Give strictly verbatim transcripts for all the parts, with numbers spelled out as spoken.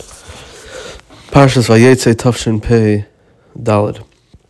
Parshas Vayetze Tafshin Pei Daled.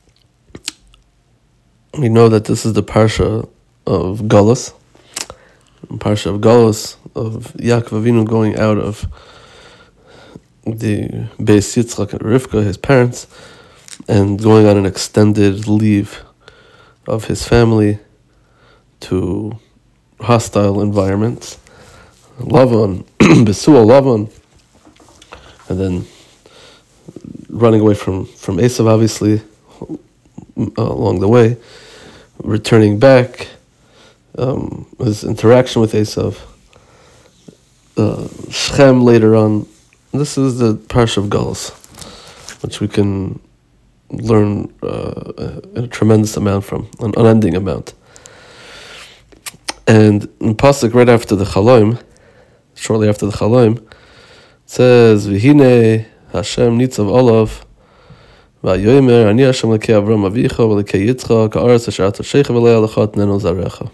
We know that this is the Parsha of Galus, Parsha of Galus, of Yaakov Avinu going out of the Beis Yitzchak and Rivka, his parents, and going on an extended leave of his family to hostile environments. Lavan, Besuel Lavan, and then running away from, from Esav, obviously, uh, along the way, returning back, um, his interaction with Esav, uh, Shechem later on. This is the Parsha of Galus, which we can learn uh, a tremendous amount from, an unending amount. And in Pasuk right after the Chaloim, shortly after the Chaloim, it says, V'hine Hashem nitzav olav, v'ayomer ani Hashem lekei Avram avicha v'lekei Yitzchak ha'aretz asher ata sheicha v'lei alecha tnenu zarecha.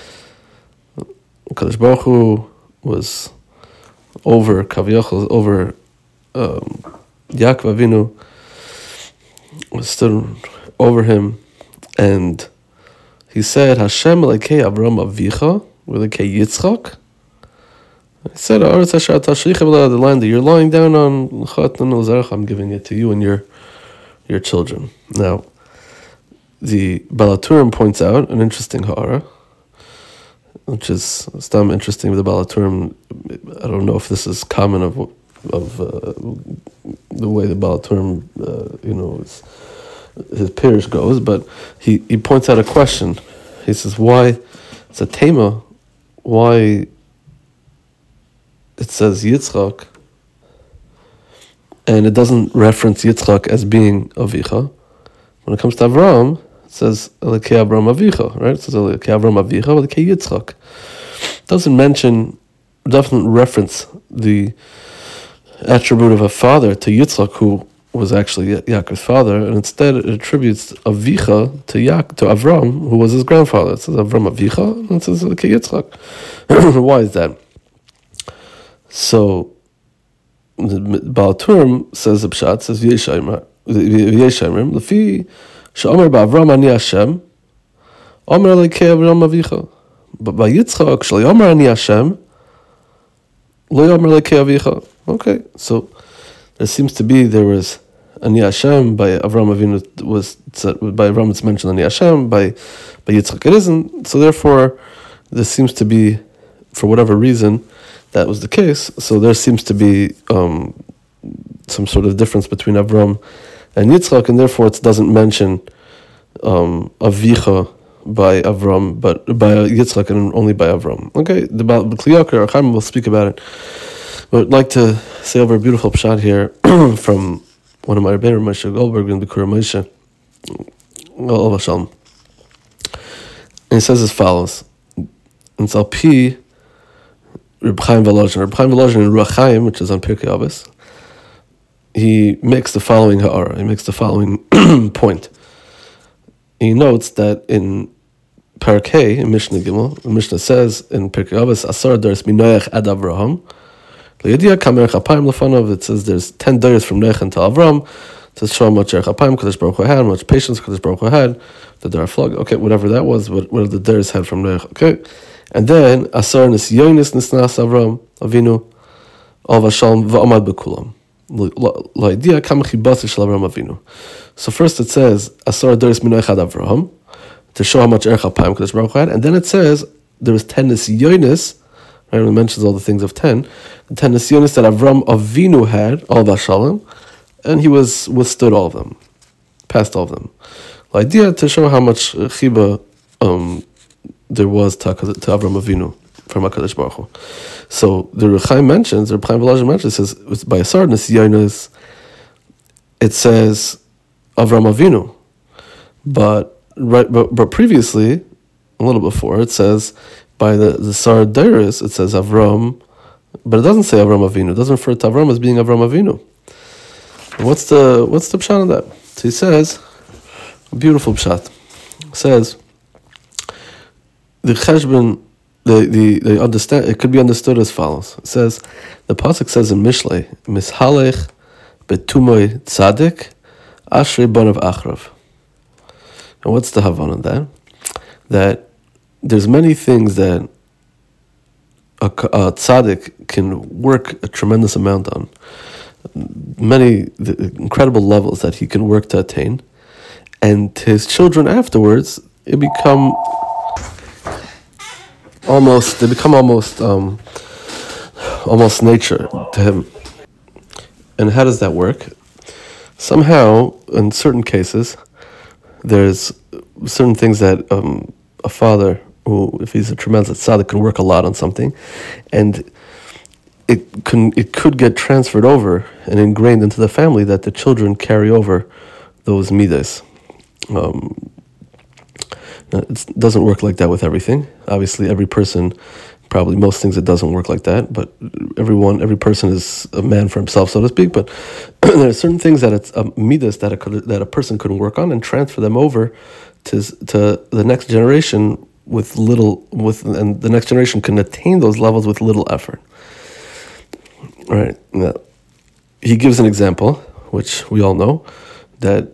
Kadosh Baruch Hu was over Kaviyachal, over um, Yaakov Avinu, was stood over him, and he said, Hashem lekei Avram avicha v'lekei Yitzchak. He said, the land that you're lying down on, I'm giving it to you and your your children. Now, the Baal HaTurim points out an interesting ha'ara, which is stam interesting with the Baal HaTurim. I don't know if this is common of of uh, the way the Baal HaTurim, uh, you know, his, his peers goes, but he, he points out a question. He says, why, it's a tema, why it says Yitzchak, and it doesn't reference Yitzchak as being Avicha. When it comes to Avram, it says Elekei Avram Avicha, right? It says Elekei Avram Avicha, Elekei Yitzchak. It doesn't mention, doesn't reference the attribute of a father to Yitzchak, who was actually Yaakov's father, and instead it attributes Avicha to Yaak, to Avram, who was his grandfather. It says Avram Avicha, and it says Elekei Yitzchak. Why is that? So, the Baal HaTurim says the Pshat, says V'yeshayimrim, L'fi she'omer ba'Avram ani Hashem, omer lekei Avram avicha. But by Yitzchak, she'omer ani Hashem, lo yomer lekei avicha. Okay, so there seems to be, there was ani Hashem, by Avram Avinu was, by Avram it's mentioned ani Hashem, by, by Yitzchak it isn't, so therefore, there seems to be, for whatever reason, that was the case, so there seems to be um, some sort of difference between Avram and Yitzchak, and therefore it doesn't mention um, Avicha by Avram, but by Yitzchak and only by Avram. Okay, the Kli Yakar, Chaim will speak about it. But I'd like to say over a beautiful pshat here from one of my Rebbeinu, Moshe Goldberg, in Bikur Moshe, Olav Shalom. And he says as follows, in Zalpi, Reb Chaim Volozhin, Reb Chaim Volozhin in Ruach Chaim, which is on Pirkei Avos, he makes the following ha'ara, he makes the following point. He notes that in Parakeh, in Mishnah Gimel, the Mishnah says in Pirkei Avos, Asar daris min Noach ad Avraham, Le'yediya kamerech apayim lefanov, it says there's ten days from Noach until Avram, to show how much erech apayim Kadosh Baruch Hu had, how much patience Kadosh Baruch Hu had, that there are flog, okay, whatever that was, what, what the days had from Noach, okay. And then Asar Nisyonis Nisnas Avram Avinu Al Vashalom Va'amad Bekulam. La'idiyah Kam Chibasi Shel Avram Avinu. So first it says Asar Daris Min Echad Avraham, to show how much Erech HaPayim Kadosh Baruch Hu had, and then it says there was ten Nisyonis, right? It mentions all the things of ten, the ten Nisyonis that Avram Avinu had Al Vashalom, and he was withstood all of them, passed all of them. La'idiyah, to show how much Chiba um there was to, to Avram Avinu from HaKadosh Baruch Hu. So the Rechaim mentions, the Rechaim Volozhin mentions, it says, by Asar Nisyonis, it says Avram Avinu. But right, but, but previously, a little before, it says, by the, the Sar Dairis, it says Avram, but it doesn't say Avram Avinu. It doesn't refer to Avram as being Avram Avinu. And what's the what's the pshat of that? So he says, a beautiful pshat. It says, the cheshbon, the, the, they understand, it could be understood as follows. It says, the pasuk says in Mishlei, Mishalech betumoy tzadik, ashrei banav achrav. And what's the Havana on that? That there's many things that a, a tzaddik can work a tremendous amount on. Many the incredible levels that he can work to attain. And his children afterwards, it become almost, they become almost, um, almost nature to him. And how does that work? Somehow, in certain cases, there's certain things that um, a father, who, if he's a tremendous tzaddik, can work a lot on something, and it can it could get transferred over and ingrained into the family that the children carry over those midas. Um, it doesn't work like that with everything. Obviously, every person, probably most things, it doesn't work like that. But everyone, every person is a man for himself, so to speak. But there are certain things that it's um, midas that a that a person can work on and transfer them over to to the next generation with little with, and the next generation can attain those levels with little effort. All right. Now, he gives an example, which we all know, that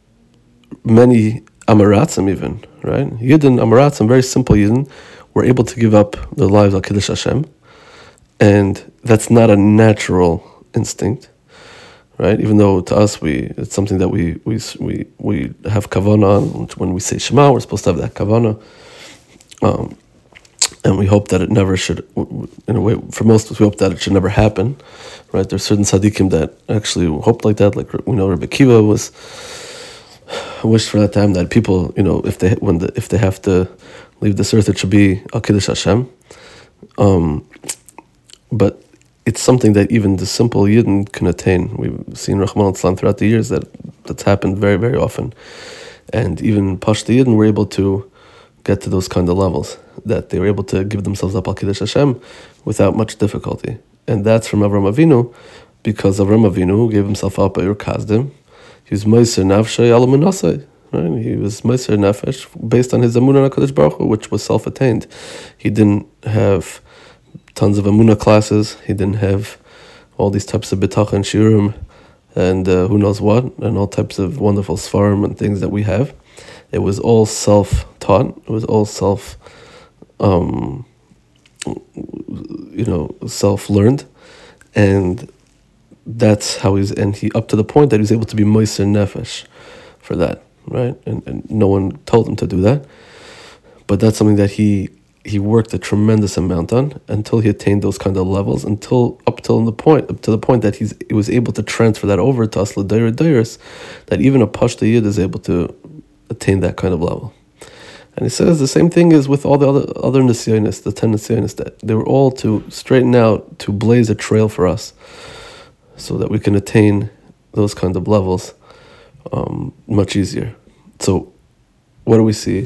many Amaratzim even, right? Yidden, Amaratzim, very simple Yidden, were able to give up their lives al Kiddush Hashem, and that's not a natural instinct, right? Even though to us, we it's something that we we we, we have kavanah on. When we say Shema, we're supposed to have that kavanah, um, and we hope that it never should, in a way, for most of us, we hope that it should never happen, right? There's certain tzaddikim that actually hoped like that, like we know Rebbe Kiva was wished for that time that people, you know, if they when the, if they have to leave this earth, it should be al Kiddush Hashem. Um, but it's something that even the simple Yidden can attain. We've seen Rahman al-Islam throughout the years that that's happened very, very often. And even Pashto Yidden were able to get to those kind of levels, that they were able to give themselves up al Kiddush Hashem without much difficulty. And that's from Avram Avinu, because Avram Avinu gave himself up at Ur Kasdim. He was Meiser Nafshay Ala Menasai. Right? He was Meiser Nefesh based on his Amunah HaKadosh Baruch Hu, which was self-attained. He didn't have tons of Amunah classes. He didn't have all these types of Bitachon and Shiurim and uh, who knows what, and all types of wonderful Sfarim and things that we have. It was all self-taught. It was all self, um, you know, self-learned. And that's how he's, and he, up to the point that he was able to be Meiser Nefesh for that. Right, and and no one told him to do that, but that's something that he he worked a tremendous amount on until he attained those kind of levels. Until up till the point up to the point that he's he was able to transfer that over to us l'dayer dayers, that even a Pashto Yid is able to attain that kind of level. And he says the same thing is with all the other other Nisyonis, the ten Nisyonis, that they were all to straighten out, to blaze a trail for us, so that we can attain those kind of levels. Um, much easier. So, what do we see?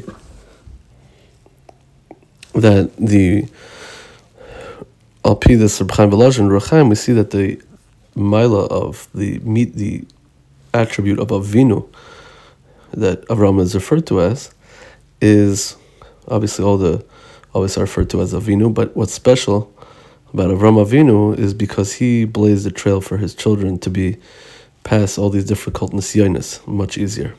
That the Al-Pi, the Reb Chaim Volozhin, Reb Chaim, we see that the Maila of the meet the attribute of Avinu that Avram is referred to as is obviously all the always are referred to as Avinu, but what's special about Avram Avinu is because he blazed the trail for his children to be pass all these difficult nisyonis much easier,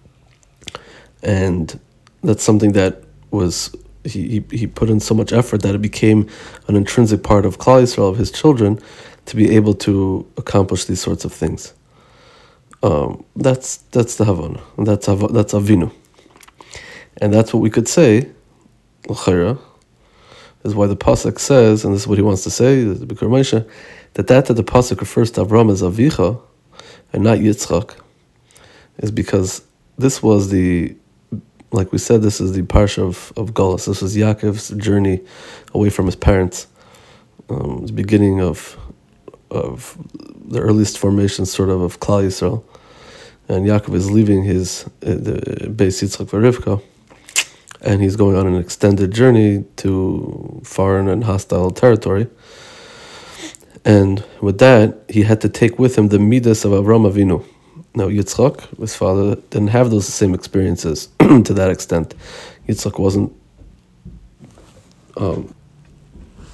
and that's something that was he, he he put in so much effort that it became an intrinsic part of Klal Yisrael, of his children, to be able to accomplish these sorts of things. Um, that's that's the Havana, that's Av, that's Avinu, and that's what we could say. L'chayra is why the pasuk says, and this is what he wants to say, the Bikkur Moshe, that that that the pasuk refers to Avram as Avicha and not Yitzchak, is because this was the, like we said, this is the parsha of, of Galus. This was Yaakov's journey away from his parents, um, the beginning of of the earliest formation, sort of, of Klal Yisrael. And Yaakov is leaving his uh, the Beis Yitzchak v'Rivka, and he's going on an extended journey to foreign and hostile territory. And with that, he had to take with him the midas of Avram Avinu. Now, Yitzchak, his father, didn't have those same experiences to that extent. Yitzchak wasn't um,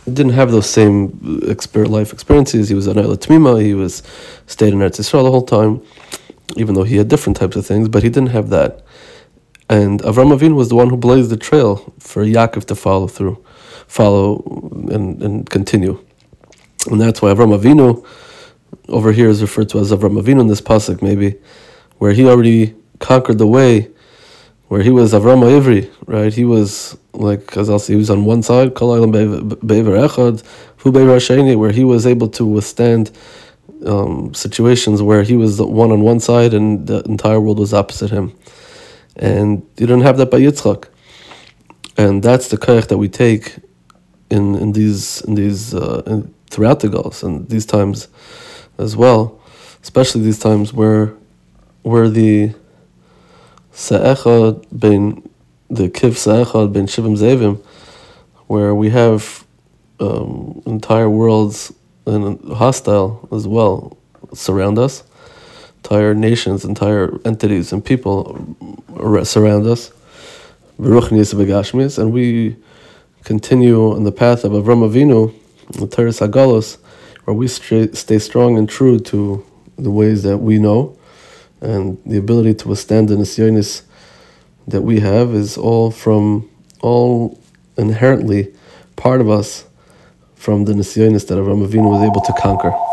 didn't have those same exper- life experiences. He was an Eila Tmima, he was stayed in Eretz Yisrael the whole time, even though he had different types of things, but he didn't have that. And Avram Avinu was the one who blazed the trail for Yaakov to follow through, follow and, and continue. And that's why Avram Avinu over here is referred to as Avram Avinu in this pasuk, maybe, where he already conquered the way, where he was Avram Ivri, right? He was like, as I'll say, he was on one side, Kol Olam Be'ever Echad, Hu Be'ever Hasheni, where he was able to withstand um, situations where he was the one on one side and the entire world was opposite him. And you don't have that by Yitzchak. And that's the koyach that we take in, in these in these uh, in, throughout the Gauls and these times as well, especially these times where where the Sa'echad ben the Kiv Sa'echad ben Shivim Zevim, where we have um, entire worlds and hostile as well surround us, entire nations, entire entities and people surround us, and we continue on the path of Avram Avinu, the Teres Hagalos, where we stay strong and true to the ways that we know, and the ability to withstand the nisyonis that we have is all from, all inherently part of us from the nisyonis that Avram Avinu was able to conquer.